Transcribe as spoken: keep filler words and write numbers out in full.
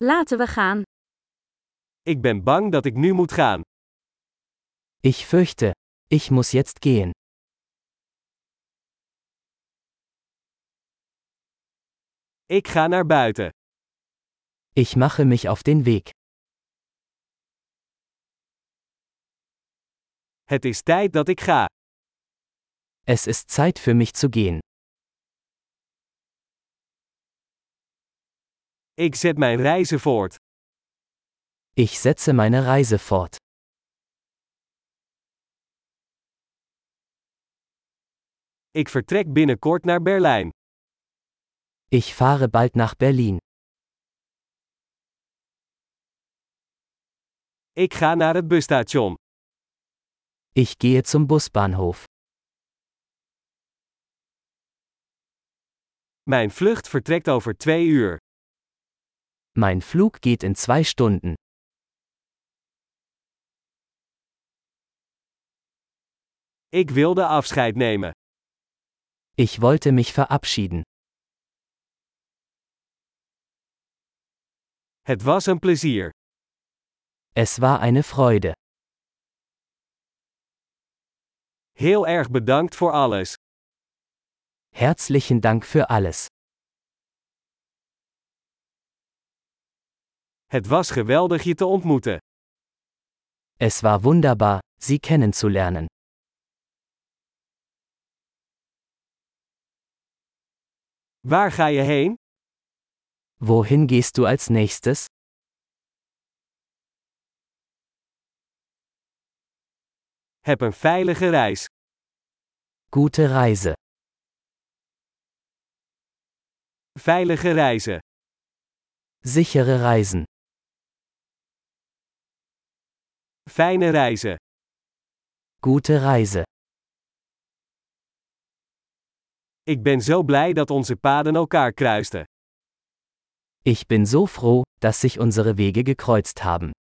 Laten we gaan. Ik ben bang dat ik nu moet gaan. Ich fürchte, ich muss jetzt gehen. Ik ga naar buiten. Ich mache mich auf den Weg. Het is tijd dat ik ga. Es ist Zeit für mich zu gehen. Ik zet mijn reizen voort. Ich setze meine Reise fort. Ik vertrek binnenkort naar Berlijn. Ich fahre bald nach Berlin. Ik ga naar het busstation. Ich gehe zum Busbahnhof. Mijn vlucht vertrekt over twee uur. Mein Flug geht in zwei Stunden. Ik wilde afscheid nemen. Ich wollte mich verabschieden. Het was een plezier. Es war eine Freude. Heel erg bedankt voor alles. Herzlichen Dank für alles. Het was geweldig je te ontmoeten. Es war wunderbar, Sie kennenzulernen. Waar ga je heen? Wohin gehst du als nächstes? Heb een veilige reis. Gute Reise. Veilige reizen. Sichere Reisen. Fijne reizen. Gute Reise. Ik ben zo blij dat onze paden elkaar kruisten. Ich bin so froh, dass sich unsere Wege gekreuzt haben.